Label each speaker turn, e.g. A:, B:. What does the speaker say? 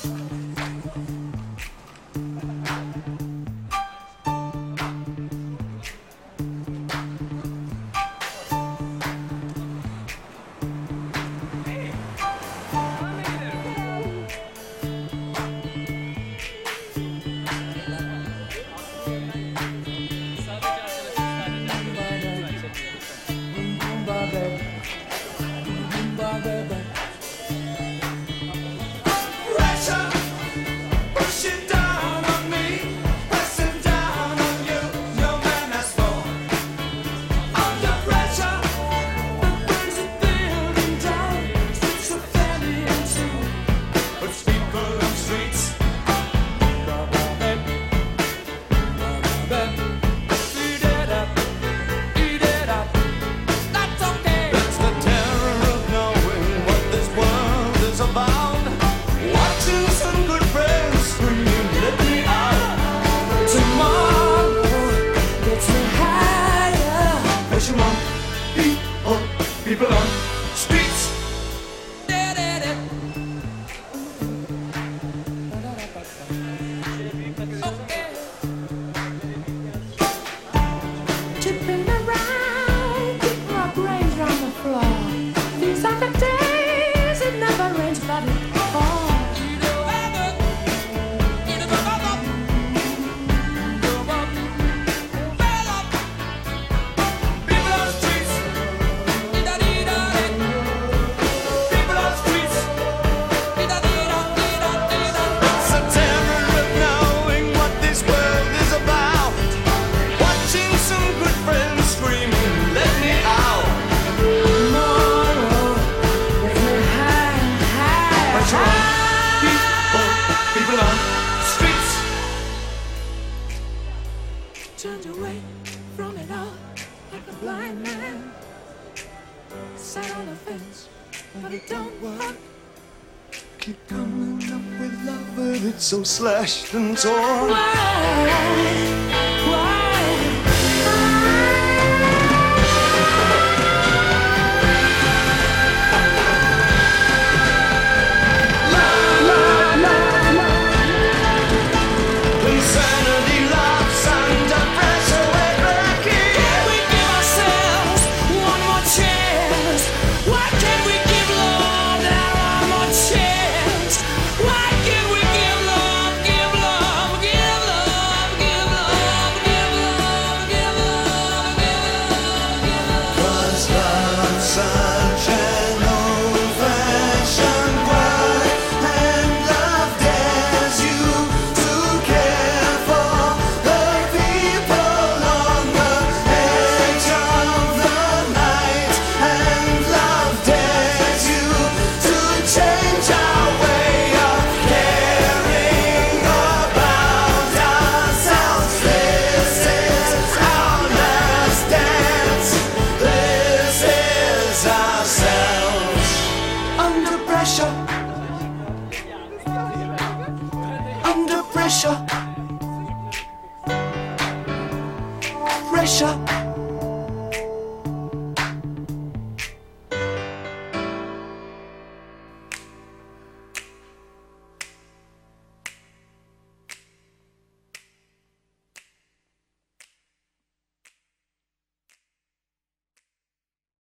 A: People on streets.
B: Chipping around, keep my brains round the floor. These are the days it never rains, but it falls. Turned away from it all like a blind man. Sat on the fence, but it don't work.
A: Keep coming up with love, but it's so slashed and torn.
B: Why?
A: Under pressure.